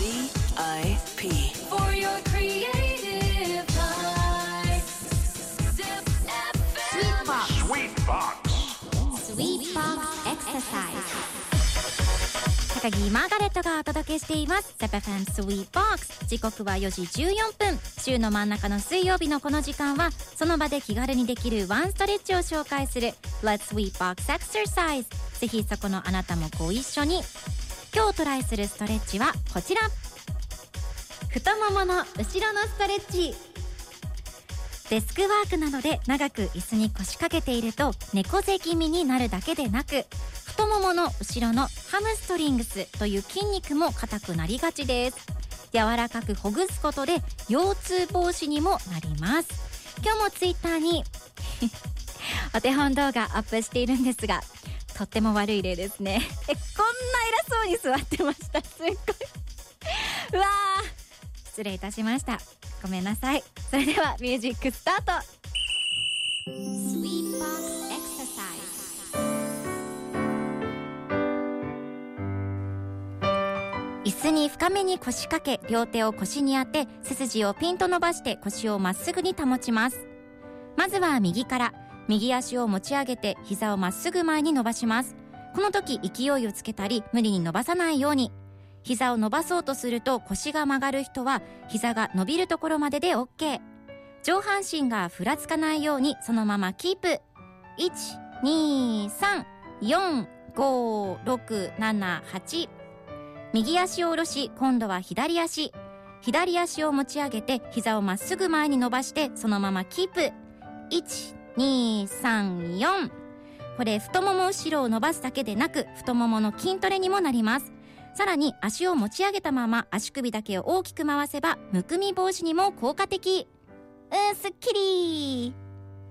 For your creative time. Zip Sweetbox Exercise。高木マーガレットがお届けしています ZEPFM Sweetbox。 時刻は4時14分。週の真ん中の水曜日のこの時間はその場で気軽にできるワンストレッチを紹介する Let's Sweetbox Exercise。 ぜひそこのあなたもご一緒に。今日トライするストレッチはこちら、太ももの後ろのストレッチ。デスクワークなどで長く椅子に腰掛けていると猫背気味になるだけでなく、太ももの後ろのハムストリングスという筋肉も硬くなりがちです。柔らかくほぐすことで腰痛防止にもなります。今日もツイッターにお手本動画アップしているんですが、とっても悪い例ですね。こんな偉そうに座ってました。すっごいうわー、失礼いたしました。ごめんなさい。それではミュージックスタート。 Sweetbox Exercise。 椅子に深めに腰掛け、両手を腰に当て、背筋をピンと伸ばして腰をまっすぐに保ちます。まずは右から。右足を持ち上げて膝をまっすぐ前に伸ばします。この時勢いをつけたり無理に伸ばさないように。膝を伸ばそうとすると腰が曲がる人は膝が伸びるところまでで OK。 上半身がふらつかないようにそのままキープ。 1,2,3,4,5,6,7,8。 右足を下ろし、今度は左足を持ち上げて膝をまっすぐ前に伸ばしてそのままキープ。 1,2,3,4。 これ太もも後ろを伸ばすだけでなく太ももの筋トレにもなります。さらに足を持ち上げたまま足首だけを大きく回せばむくみ防止にも効果的。すっきり。